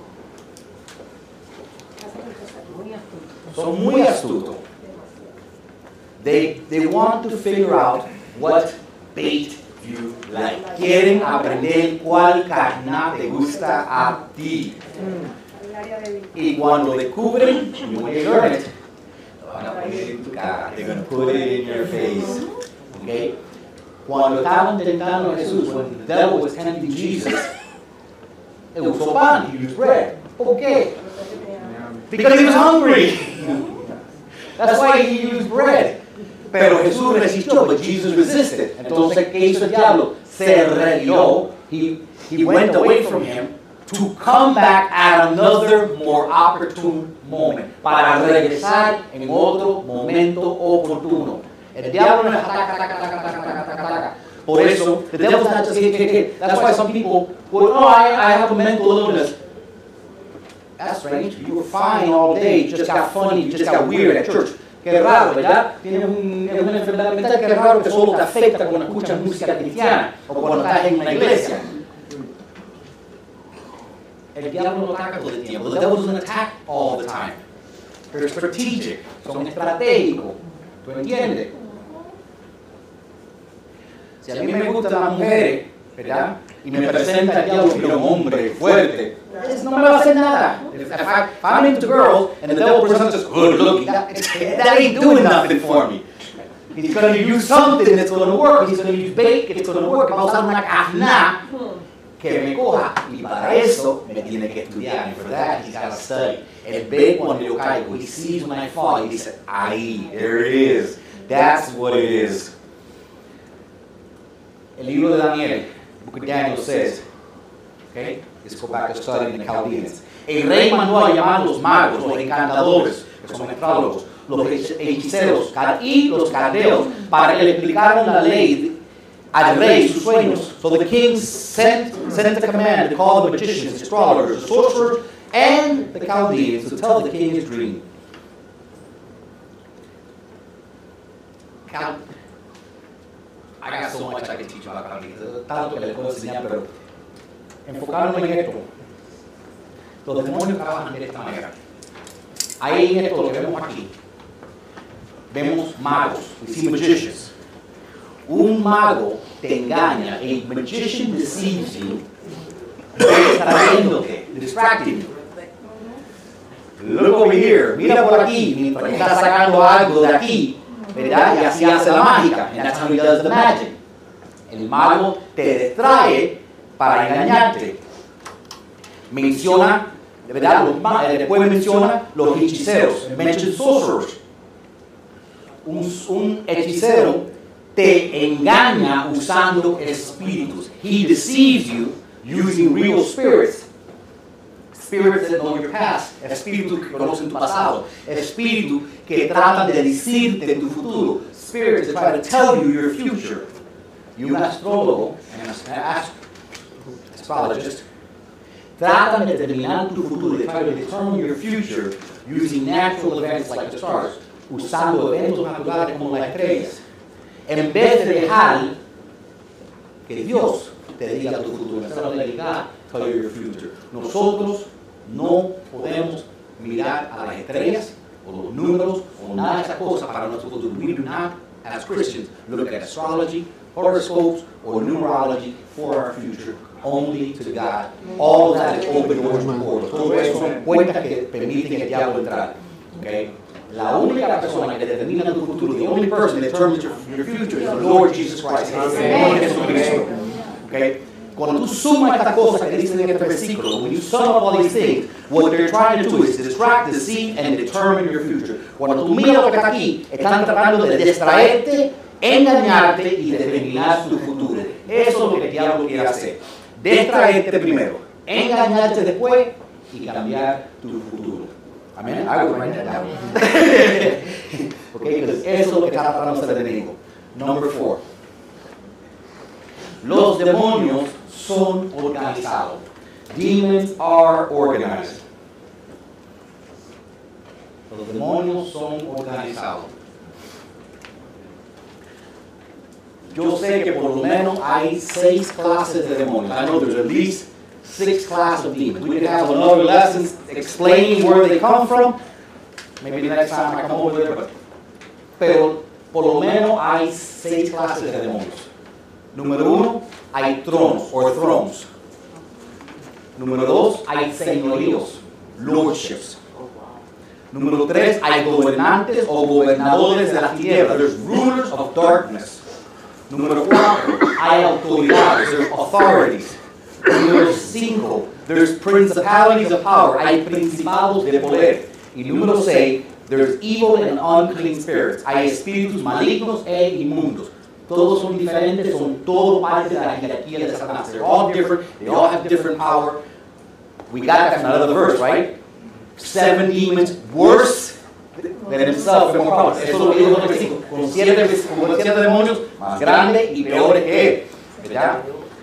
Son muy astutos. They want to figure out what bait you like. Quieren aprender cuál carne te gusta a ti. Y cuando descubren, when they learn it, lo van a poner en tu cara. They're going to put it in your face. Okay? Cuando estaban tentando a Jesús, when the devil was tempting Jesus, él usó pan, he used bread. ¿Por qué? Because he was hungry. That's why he used bread. Pero Jesús resistió, but Jesus resisted. Entonces, ¿qué hizo el diablo? Se retiró. He went away from him to come back at another more opportune moment. Para regresar en otro momento oportuno. El diablo no es ataca. Por eso, the devil's not just hit. That's why some people, I have a mental illness. That's strange. You were fine all day. You just got funny. You just got weird at church. Qué raro, ¿verdad? Tienes una enfermedad mental, qué raro que solo te afecta cuando escuchas música cristiana o cuando estás en una iglesia. El diablo no ataca todo el tiempo. The devil doesn't attack all the time. They're strategic. Son estratégicos. ¿Tú entiendes? Si a mí me gustan las mujeres, ¿verdad? Y me presenta el diablo como un hombre fuerte, no me va a hacer nada. If I'm into girls and the devil presents us good looking, that ain't doing nothing for me. He's going to use something that's going to work. He's going to use bait, it's going to work. Va a usar una carna que me coja. Y para eso me tiene que estudiar. And for that, he's got to study. El ve cuando yo caigo. He sees when I fall. He dice, ahí, there it is. That's what it is. El libro de Daniel, Book of Daniel says, okay, let's go back to studying the Chaldeans. El rey mandó a llamar los magos, los encantadores, que son astrólogos, los hechiceros y los caldeos, para que le explicaran la ley al rey sus sueños. So the king sent a command to call the magicians, astrologers, the sorcerers, and the Chaldeans to tell the king his dream. I got so much I can teach about Chaldeans. Tanto que les puedo enseñar, pero enfocándome en esto. Los demonios trabajan de esta manera. Ahí en esto lo que vemos aquí. Vemos magos. We see magicians. Un mago te engaña. A magician deceives you. Distrayéndote, distracting you. Look over here. Mira por aquí. Mientras está sacando algo de aquí, ¿verdad? Y así hace la mágica. And that's how he does the magic. El mago te distrae para engañarte. Menciona, de verdad, después menciona los hechiceros. Mention sorcerers. Un hechicero te engaña usando espíritus. He deceives you using real spirits. Spirits that know your past. Espíritus que conocen tu pasado. Espíritus que tratan de decirte tu futuro. Spirits that try to tell you your future. Y un astrólogo, astrologist, tratan de determinar tu futuro. They try to determine your future using natural events like the stars. Usando eventos naturales como las estrellas. En vez de dejar que Dios te diga tu futuro. Instead of letting God tell you your future. Nosotros no podemos mirar a las estrellas o los números o nada de esas cosas para nuestro futuro. We do not, as Christians, look at astrology, horoscopes, or numerology for our future. Only to God. All of that is open doors to portals. Todo eso son puertas que permiten al diablo entrar. Okay? La única persona que determina tu futuro, the only person that determines your future is the Lord Jesus Christ. Okay? Cuando tú sumas estas cosas que dicen en este versículo, when you sum up all these things, what they're trying to do is distract, deceive, and determine your future. Cuando tú miras lo que está aquí, están tratando de distraerte, engañarte y determinar tu futuro. Eso es lo que el diablo quiere hacer. Distraerte primero, engañarte después y cambiar tu futuro. Amén. I would write that down. Okay, because eso es lo que está tratando de hacer el enemigo. Number 4. Los demonios son organizados. Demons are organized. Los demonios son organizados. Yo sé que por lo menos hay 6 clases de demonios. I know there's at least 6 classes of demons. We could have another lesson explaining where they come from. Maybe the next time I come over there, pero por lo menos hay 6 clases de demonios. Número 1, hay tronos, or thrones. Número 2, hay señoríos, lordships. Número 3, hay gobernantes o gobernadores de la tierra. There's rulers of darkness. Número 4, hay autoridades, there's authorities. Número 5, there's principalities of power, hay principados de poder. Y número 6, there's evil and unclean spirits, hay espíritus malignos e inmundos. Todos son diferentes, son todo parte de la jerarquía de Satanás. They're all different, they all have different power. We got that from another verse, right? 7 demons worse than himself, more powerful. Eso lo dijo en el versículo. Con 7 demonios más grandes y peores que él. ¿Verdad?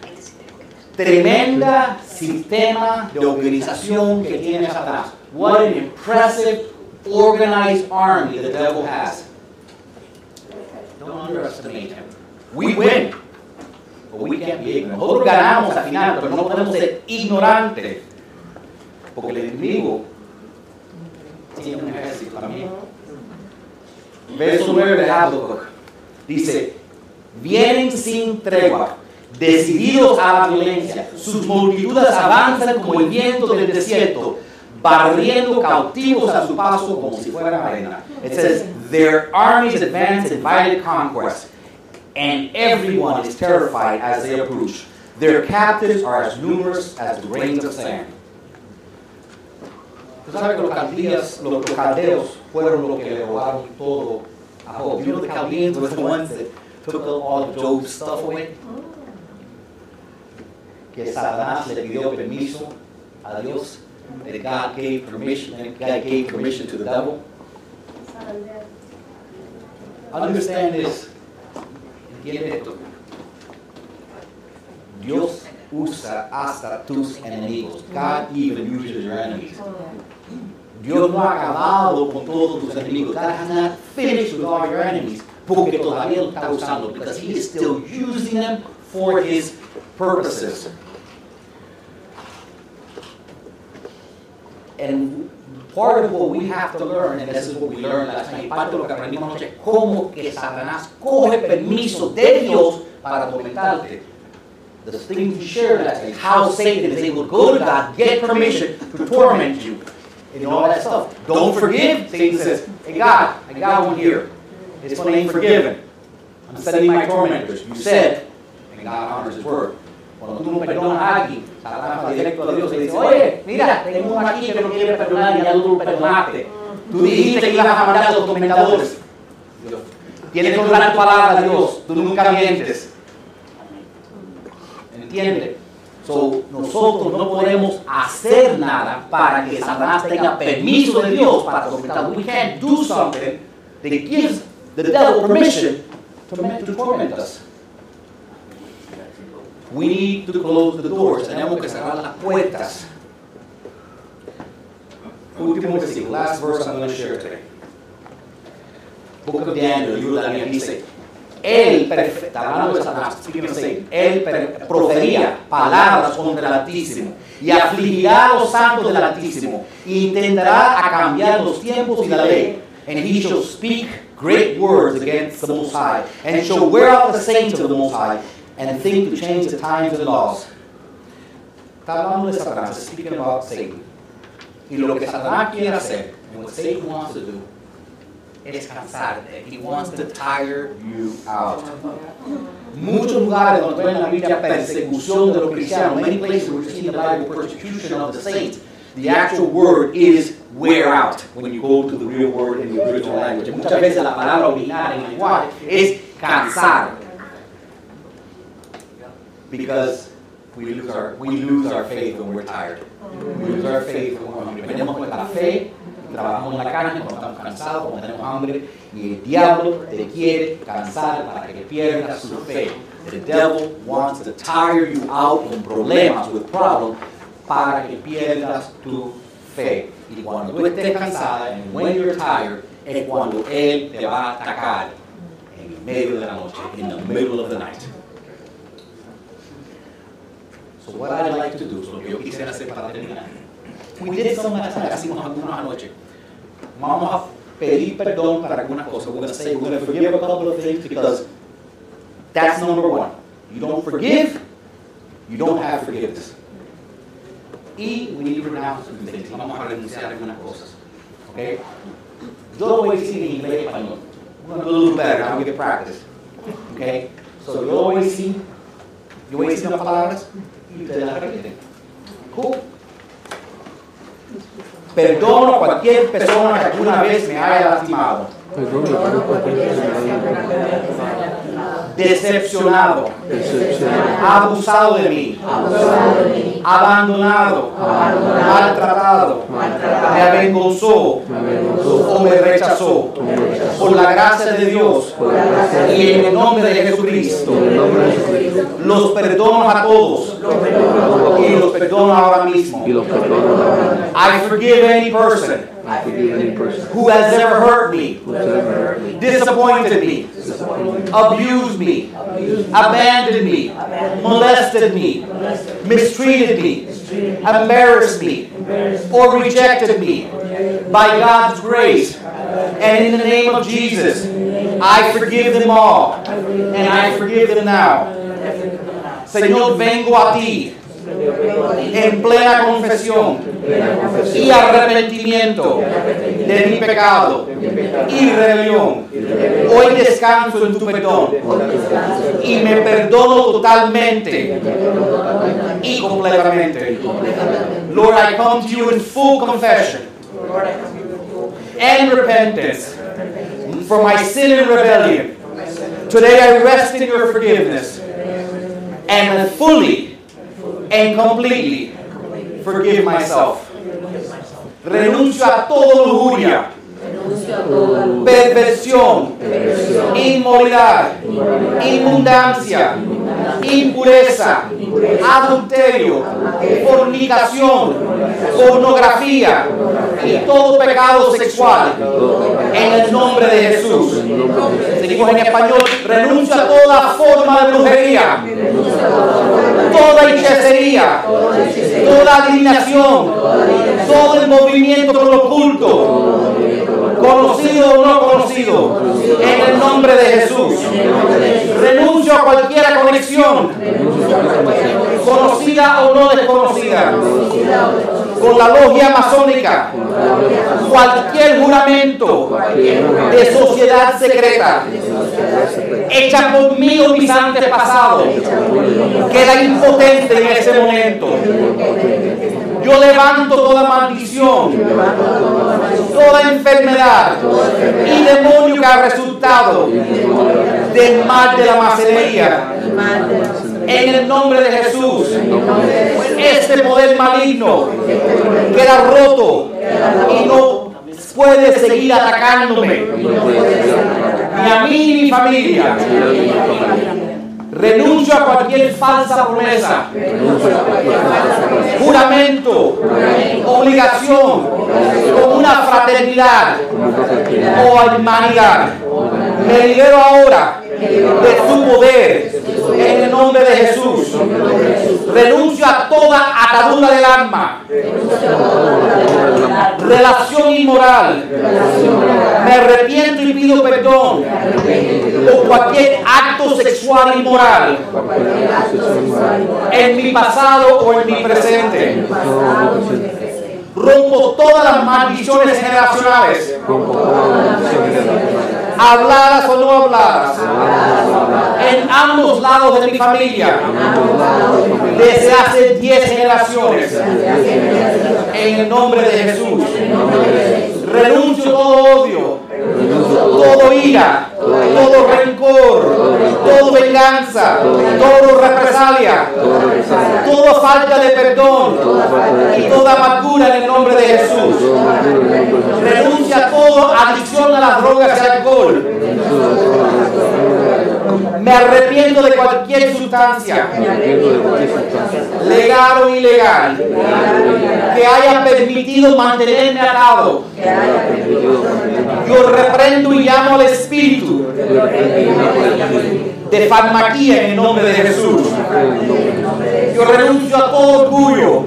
Tremenda sistema de organización que tiene Satanás. What an impressive, organized army the devil has. Don't underestimate him. We win, but we can't be ignorant. Nosotros ganamos al final, pero no podemos ser ignorantes. Porque el enemigo tiene un ejército también. Verso 9 de Habacuc dice: vienen sin tregua, decididos a la violencia, sus multitudes avanzan como el viento del desierto, barriendo cautivos a su paso como si fueran arena. It says, their armies advance in violent conquest, and everyone is terrified as they approach. Their captives are as numerous as the grains of sand. Tú sabes que los caldeos fueron los que le robaron todo a Job. You know the Chaldeans were the ones that took all of Job's stuff away? Que Satanás le pidió permiso a Dios. That God gave permission to the devil. Understand this. Entiende esto. Dios usa hasta tus enemigos. God even uses your enemies. Dios no ha acabado con todos tus enemigos. God has not finished with all your enemies. Porque todavía lo está usando. Because He is still using them for His purposes. And part of what we have to learn, and this is what we learned last night, parte de lo que aprendimos anoche, cómo que Satanás coge permiso de Dios para atormentarte. The things we shared last night, how Satan is able to go to God, get permission to torment you, and all that stuff. Don't forgive. Satan says, hey God, I got one here. This one ain't forgiven. I'm sending my tormentors. You said, and God honors His word. Cuando tú no perdonas a alguien, Satanás va directo a Dios y le dice, oye, mira, tengo uno aquí que no quiere perdonar y ya tú lo perdonaste. Tú dijiste que ibas a mandar a los tormentadores. Tienes que honrar tu palabra a Dios. Tú nunca mientes. ¿Entiendes? So, nosotros no podemos hacer nada para que Satanás tenga permiso de Dios para atormentarnos. We can't do something that gives the devil permission to torment us. We need to close the doors. Tenemos que cerrar las puertas. Último versículo, last verse I'm going to share today. Book of Daniel, el libro de Daniel dice, él, hablando de Satanás, él profería palabras contra el Altísimo y afligirá a los santos del Altísimo e intentará a cambiar los tiempos y la ley. And he shall speak great words against the Most High, and shall wear out the saints of the Most High, and think to change the times and laws. Está hablando de Satanás, speaking about Satan. Y lo que Satanás quiere hacer, and what Satan wants to do, es cansarte. He wants to tire you out. Muchos lugares donde ven en la Biblia persecución de los cristianos, many places where you see in the Bible persecution of the saints, the actual word is wear out when you go to the real word in the original language. Muchas veces la palabra original en el lenguaje es cansar. Because we lose our faith when we're tired. We lose our faith when perdemos nuestra fe, trabajamos en la carne cuando estamos cansados, cuando tenemos hambre, y el diablo te quiere cansar para que pierdas su fe. The devil wants to tire you out con problemas, with problems, para que pierdas tu fe. Y cuando tú estés cansada, and when you're tired, es cuando él te va a atacar. And medio de la noche, in the middle of the night. So what I'd like to do, lo que yo quisiera hacer para terminar, we did some last night, hicimos algunos anoche. Vamos a pedir perdón para algunas cosas. We're going to say we're going to forgive a couple of things because that's number one. You don't forgive, you don't have forgiveness. Y we need to renounce some things. Vamos a renunciar a algunas cosas. Okay? Yo lo voy a decir en inglés y español. We're going to do a little better. Now we get practice. Okay? So yo lo voy a decir las palabras y ustedes las repiten. Cool. Perdono a cualquier persona que alguna vez me haya lastimado, decepcionado, abusado de mí, abandonado, maltratado, me avergonzó o me rechazó. Por la gracia de Dios y en el nombre de Jesucristo, los perdono a todos y los perdono ahora mismo. I forgive any person who has ever hurt me, disappointed me, abused me, abandoned me, molested me, mistreated me, embarrassed me, or rejected me. By God's grace and in the name of Jesus, I forgive them all and I forgive them now. Señor, vengo a ti en plena confesión y arrepentimiento de mi pecado y rebelión. Hoy descanso en tu perdón y me perdono totalmente y completamente. Lord, I come to you in full confession and repentance for my sin and rebellion. Today I rest in your forgiveness and fully and completely forgive myself. Renuncio a toda lujuria, perversión, inmoralidad, inmundancia, impureza, adulterio, fornicación, pornografía y todo pecado sexual. En el nombre de Jesús. Seguimos en español. Renuncio a toda forma de brujería, toda hechicería, toda adivinación, todo el movimiento con lo oculto, conocido o no conocido, en el nombre de Jesús. Renuncio a cualquier conexión, conocida o no desconocida, con la logia masónica, cualquier juramento de sociedad secreta hecha por mí o mis antepasados, queda impotente en ese momento. Yo levanto toda maldición, toda enfermedad y demonio que ha resultado del mal de la masonería. En el nombre de Jesús, este poder maligno queda roto y no puede seguir atacándome, ni a mí ni mi familia. Renuncio a cualquier falsa promesa, juramento, obligación, con una fraternidad o hermanidad. Me libero ahora de su poder en el nombre de Jesús. Renuncio a toda atadura del alma, relación inmoral. Me arrepiento y pido perdón por cualquier acto sexual inmoral en mi pasado o en mi presente. Rompo todas las maldiciones generacionales, habladas o no habladas, en ambos lados de mi familia, desde hace 10 generaciones, en el nombre de Jesús. Renuncio todo odio, todo ira, todo rencor, todo venganza, todo represalia, toda falta de perdón y toda amargura en el nombre de Jesús. Renuncia a toda adicción a las drogas y alcohol. Me arrepiento de cualquier sustancia, legal o ilegal, que haya permitido mantenerme atado. Yo reprendo y llamo al espíritu de farmaquía en el nombre de Jesús. Yo renuncio a todo orgullo,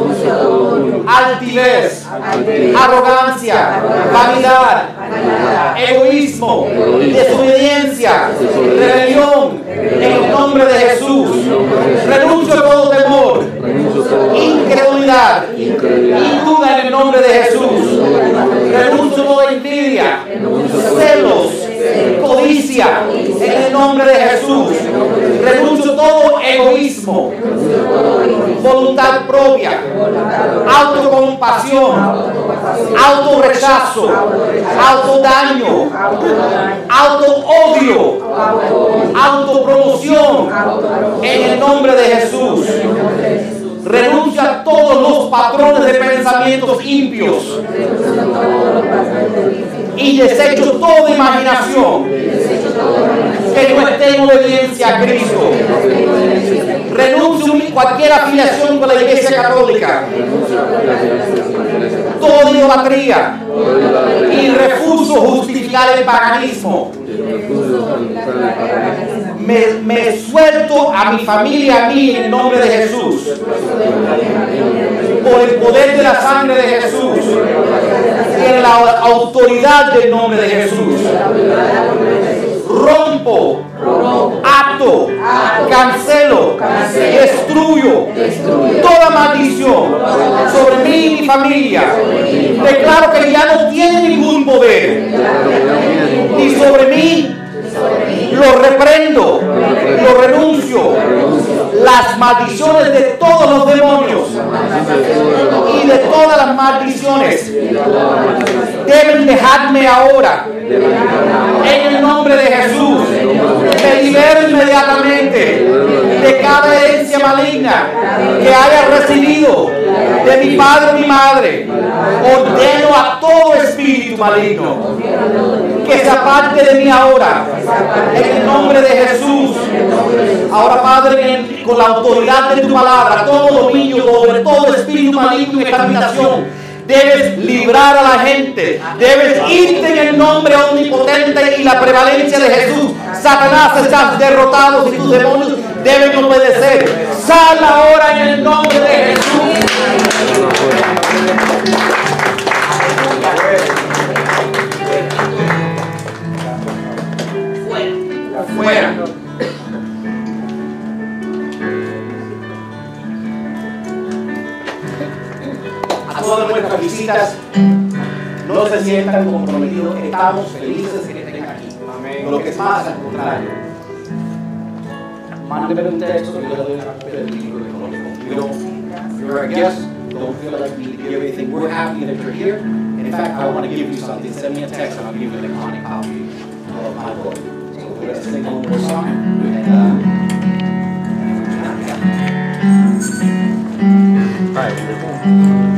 altivez, arrogancia, vanidad, egoísmo, desobediencia, rebelión en el nombre de Jesús. Renuncio a todo temor, incredulidad y duda en el nombre de Jesús. Renuncio a toda envidia, celos, codicia en el nombre de Jesús. Renuncio a todo egoísmo, voluntad propia, autocompasión, autorrechazo, autodaño, autoodio, autopromoción en el nombre de Jesús. Renuncio a todos los patrones de pensamientos impios y desecho toda imaginación que no esté en obediencia a Cristo. Renuncio a cualquier afiliación con la Iglesia Católica, toda idolatría, y refuso justificar el paganismo. Me suelto a mi familia, a mí, en el nombre de Jesús, por el poder de la sangre de Jesús y en la autoridad del nombre de Jesús. Rompo, ato, cancelo, destruyo toda maldición sobre mí y mi familia. Declaro que ya no tiene ningún poder ni sobre mí. Lo reprendo, lo renuncio. Las maldiciones de todos los demonios y de todas las maldiciones deben dejarme ahora. En el nombre de Jesús, me libero inmediatamente de cada herencia maligna que haya recibido de mi padre o mi madre. Ordeno a todo espíritu maligno que se aparte de mí ahora, en el nombre de Jesús. Ahora, Padre, con la autoridad de tu palabra, todo dominio sobre todo espíritu maligno en esta habitación, debes librar a la gente, debes irte en el nombre omnipotente y la prevalencia de Jesús. Satanás, estás derrotado y tus demonios deben obedecer. Sal ahora en el nombre de Jesús. Fuera. A todas nuestras visitas, no se sientan comprometidos. Estamos felices de que estén aquí. Amén. Lo que es más, al contrario. Mándeme un texto y yo le doy una copia del libro económico. You're a guest. Don't feel like we give anything. We're happy that you're here. In fact, I want to give you something. Send me a text and I'll give you an electronic copy of my book. Let's sing one more song. And, all right.